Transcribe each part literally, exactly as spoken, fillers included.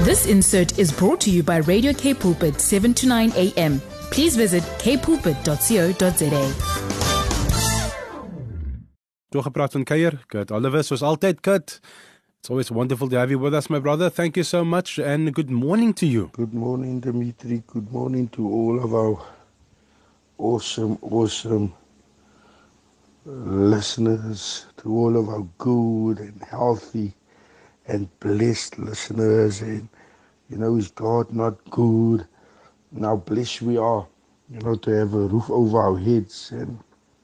This insert is brought to you by Radio K Pulpit, seven to nine a.m. Please visit k pulpit dot co dot za. Doorgepraat van Kuier, Kurt Oliver, soos altyd, Kurt. It's always wonderful to have you with us, my brother. Thank you so much, and good morning to you. Good morning, Dimitri. Good morning to all of our awesome, awesome listeners, to all of our good and healthy and blessed listeners. And, you know, is God not good? And how blessed we are, you know, to have a roof over our heads and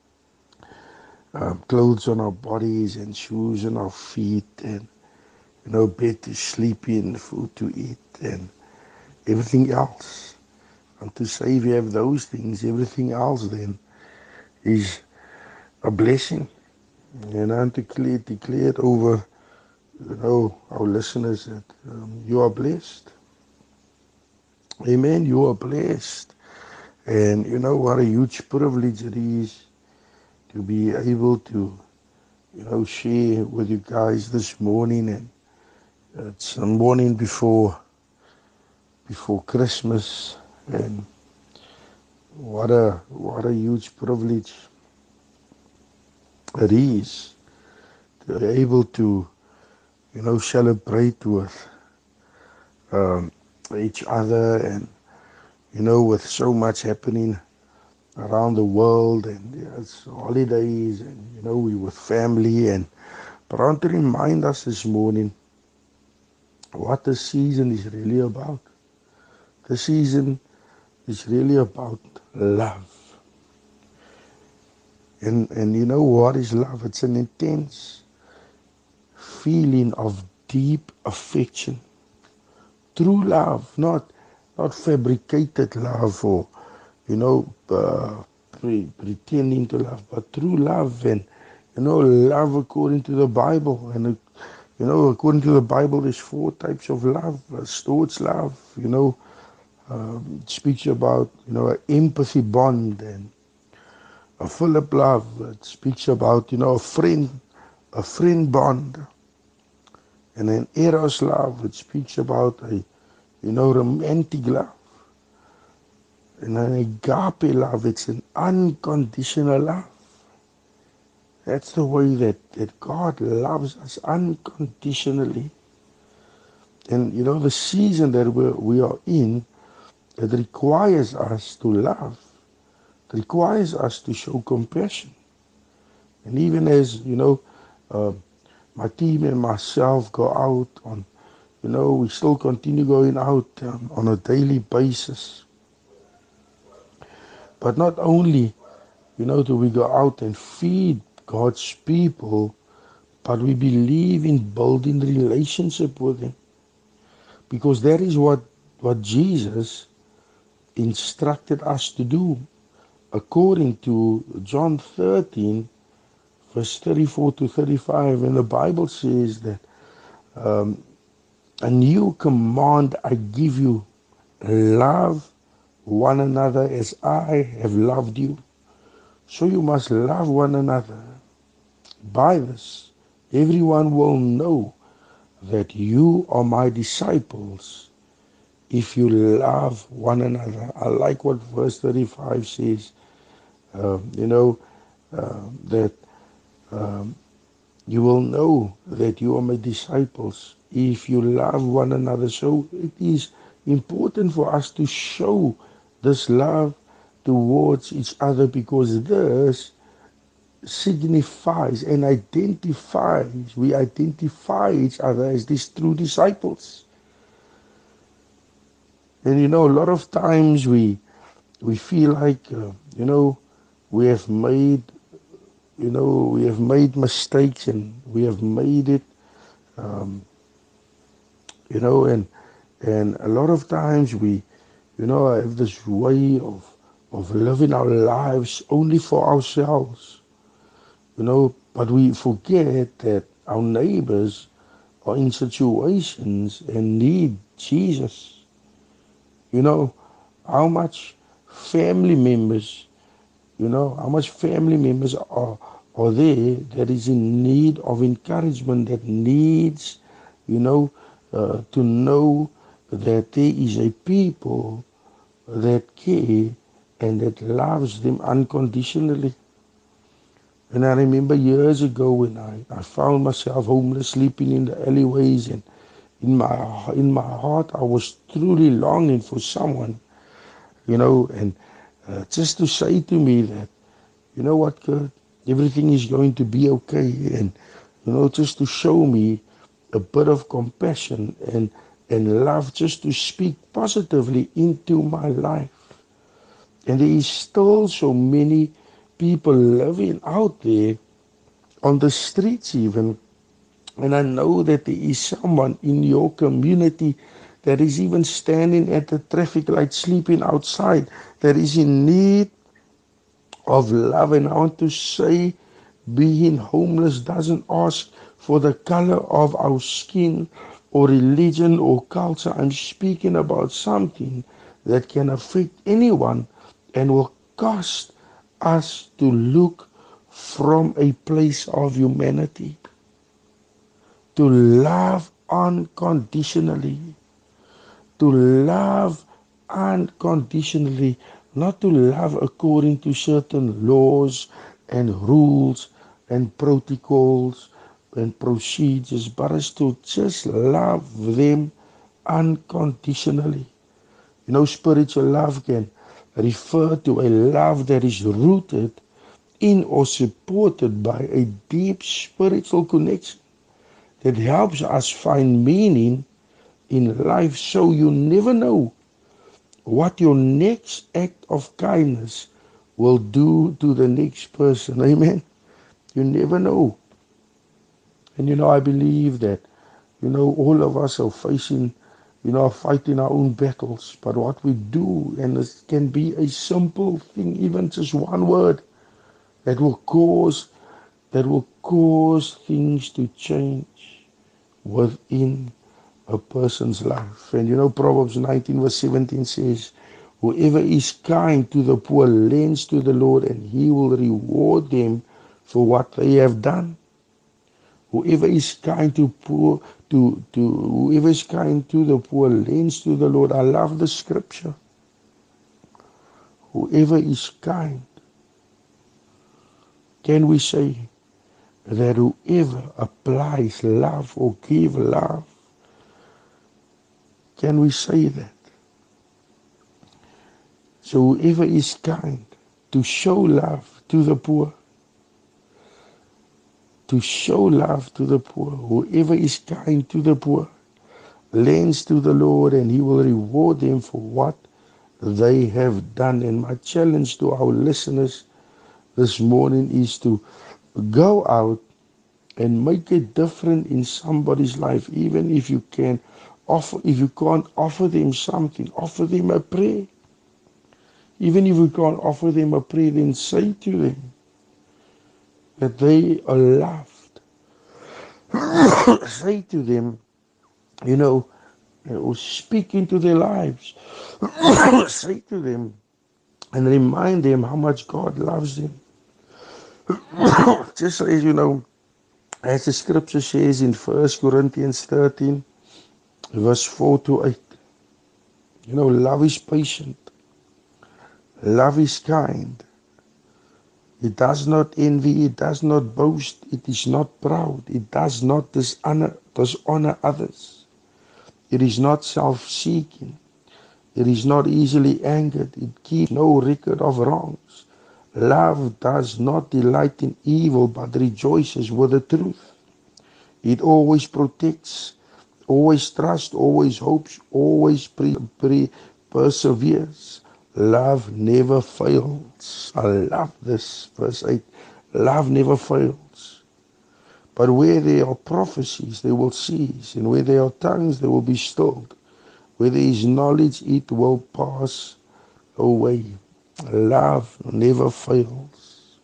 um, clothes on our bodies and shoes on our feet and, you know, bed to sleep in, food to eat and everything else. And to say if you have those things, everything else then is a blessing. And I'm declared, declared over, you know, our listeners that um, you are blessed. Amen, you are blessed. And you know what a huge privilege it is to be able to, you know, share with you guys this morning. And it's the morning before before Christmas, and what a what a huge privilege it is to be able to, you know, celebrate with um, each other, and you know, with so much happening around the world, and yeah, it's holidays, and you know, we with family. And but I want to remind us this morning what the season is really about. The season is really about love. And and you know what is love? It's an intense feeling of deep affection. True love, not not fabricated love or, you know, uh, pre- pretending to love, but true love. And, you know, love according to the Bible. And, uh, you know, according to the Bible, there's four types of love. Uh, Storge love, you know, um, it speaks about, you know, an empathy bond. And a Philip love, it speaks about, you know, a friend, a friend bond. And an Eros love, it speaks about a, you know, romantic love. And an agape love, it's an unconditional love. That's the way that, that God loves us unconditionally. And, you know, the season that we're, we are in, it requires us to love. It requires us to show compassion. And even as, you know, uh, my team and myself go out on, you know, we still continue going out um, on a daily basis. But not only, you know, do we go out and feed God's people, but we believe in building relationship with Him. Because that is what, what Jesus instructed us to do. According to John thirteen, verse thirty-four to thirty-five, and the Bible says that um, a new command I give you, love one another as I have loved you. So you must love one another. By this, everyone will know that you are my disciples if you love one another. I like what verse thirty-five says, um, you know, uh, that um, you will know that you are my disciples if you love one another. So it is important for us to show this love towards each other, because this signifies and identifies, we identify each other as these true disciples. And you know, a lot of times we we feel like, uh, you know, we have made, you know, we have made mistakes, and we have made it, um, you know, and and a lot of times we, you know, have this way of of living our lives only for ourselves, you know, but we forget that our neighbors are in situations and need Jesus. You know, how much family members, you know, how much family members are, are there that is in need of encouragement, that needs, you know, uh, to know that there is a people that care and that loves them unconditionally. And I remember years ago when I, I found myself homeless, sleeping in the alleyways, and in my in my heart I was truly longing for someone, you know, and uh, just to say to me that, you know what, Kurt, everything is going to be okay, and you know, just to show me a bit of compassion and and love, just to speak positively into my life. And there is still so many people living out there on the streets even. And I know that there is someone in your community that is even standing at the traffic light, sleeping outside, that is in need of love. And I want to say, being homeless doesn't ask for the color of our skin or religion or culture. I'm speaking about something that can affect anyone and will cost us to look from a place of humanity, to love unconditionally, to love unconditionally, not to love according to certain laws and rules and protocols and procedures, but is to just love them unconditionally. You know, spiritual love can refer to a love that is rooted in or supported by a deep spiritual connection that helps us find meaning in life. So you never know what your next act of kindness will do to the next person. Amen. You never know. And you know, I believe that, you know, all of us are facing, you know, fighting our own battles. But what we do, and it can be a simple thing, even just one word, that will cause, that will cause things to change within a person's life. And you know, Proverbs nineteen verse seventeen says, whoever is kind to the poor lends to the Lord, and he will reward them for what they have done. Whoever is kind to poor, to, to whoever is kind to the poor lends to the Lord. I love the scripture. Whoever is kind. Can we say that whoever applies love or give love? Can we say that? So whoever is kind to show love to the poor, to show love to the poor, whoever is kind to the poor, lends to the Lord, and he will reward them for what they have done. And my challenge to our listeners this morning is to go out and make a difference in somebody's life. Even if you can offer, if you can't offer them something, offer them a prayer. Even if you can't offer them a prayer, then say to them that they are loved. Say to them, you know, or speak into their lives. Say to them and remind them how much God loves them. Just as you know, as the scripture says in First Corinthians thirteen, verse four to eight, you know, love is patient. Love is kind. It does not envy. It does not boast. It is not proud. It does not dishonor, dishonor others. It is not self-seeking. It is not easily angered. It keeps no record of wrongs. Love does not delight in evil, but rejoices with the truth. It always protects, always trusts, always hopes, always pre- pre- perseveres. Love never fails. I love this, verse eight. Love never fails. But where there are prophecies, they will cease. And where there are tongues, they will be stilled. Where there is knowledge, it will pass away. Love never fails.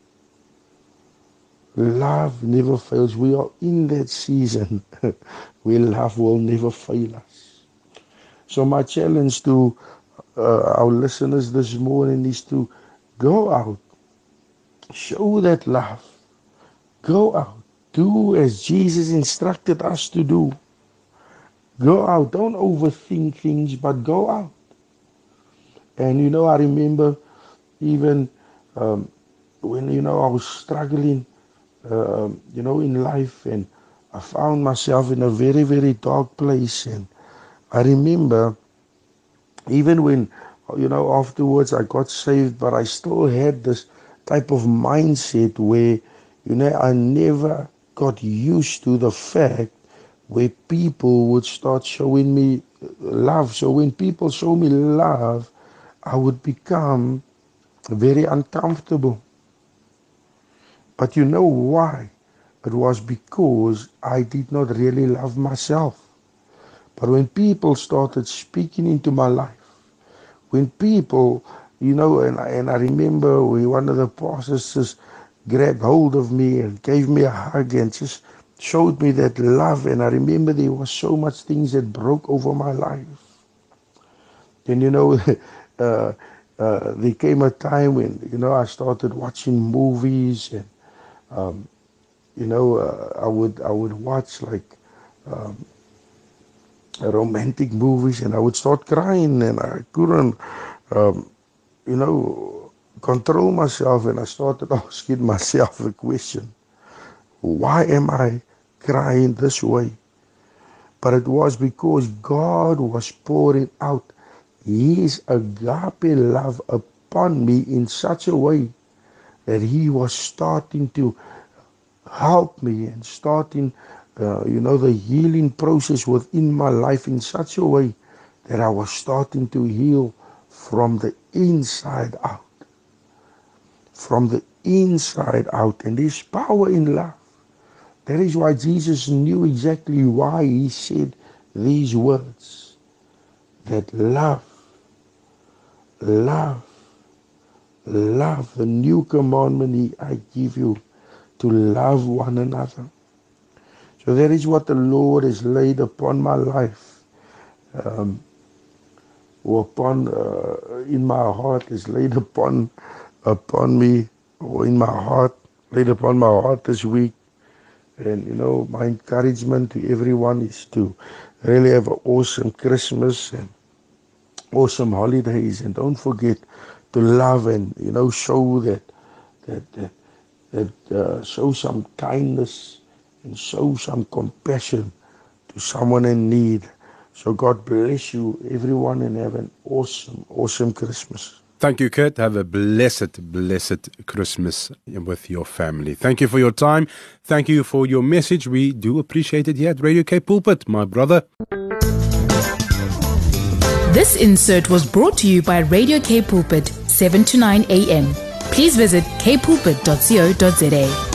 Love never fails. We are in that season where love will never fail us. So my challenge to uh, our listeners this morning is to go out, show that love, go out, do as Jesus instructed us to do, Go out. Don't overthink things, but go out. And you know, I remember even um, when, you know, I was struggling, uh, you know, in life, and I found myself in a very, very dark place. And I remember even when, you know, afterwards I got saved, but I still had this type of mindset where, you know, I never got used to the fact where people would start showing me love. So when people show me love, I would become very uncomfortable. But you know why? It was because I did not really love myself. But when people started speaking into my life, when people, you know, and I, and I remember when one of the pastors just grabbed hold of me and gave me a hug and just showed me that love. And I remember there was so much things that broke over my life. And, you know, uh, uh, there came a time when, you know, I started watching movies, and, um, you know, uh, I would I would watch like um, romantic movies, and I would start crying, and I couldn't, um, you know, control myself. And I started asking myself a question: why am I crying this way? But it was because God was pouring out His agape love upon me in such a way that He was starting to help me and starting, uh, you know, the healing process within my life in such a way that I was starting to heal from the inside out. From the inside out. And there's power in love. That is why Jesus knew exactly why He said these words. That love, love, love, the new commandment I give you, to love one another. So that is what the Lord has laid upon my life, um, or upon, uh, in my heart, is laid upon, upon me, or in my heart, laid upon my heart this week. And, you know, my encouragement to everyone is to really have an awesome Christmas and awesome holidays. And don't forget to love and, you know, show that, that, that, that uh, show some kindness and show some compassion to someone in need. So God bless you, everyone, and have an awesome, awesome Christmas. Thank you, Kurt. Have a blessed, blessed Christmas with your family. Thank you for your time. Thank you for your message. We do appreciate it here at Radio K Pulpit, my brother. This insert was brought to you by Radio K Pulpit, seven to nine a.m. Please visit k pulpit dot co dot za.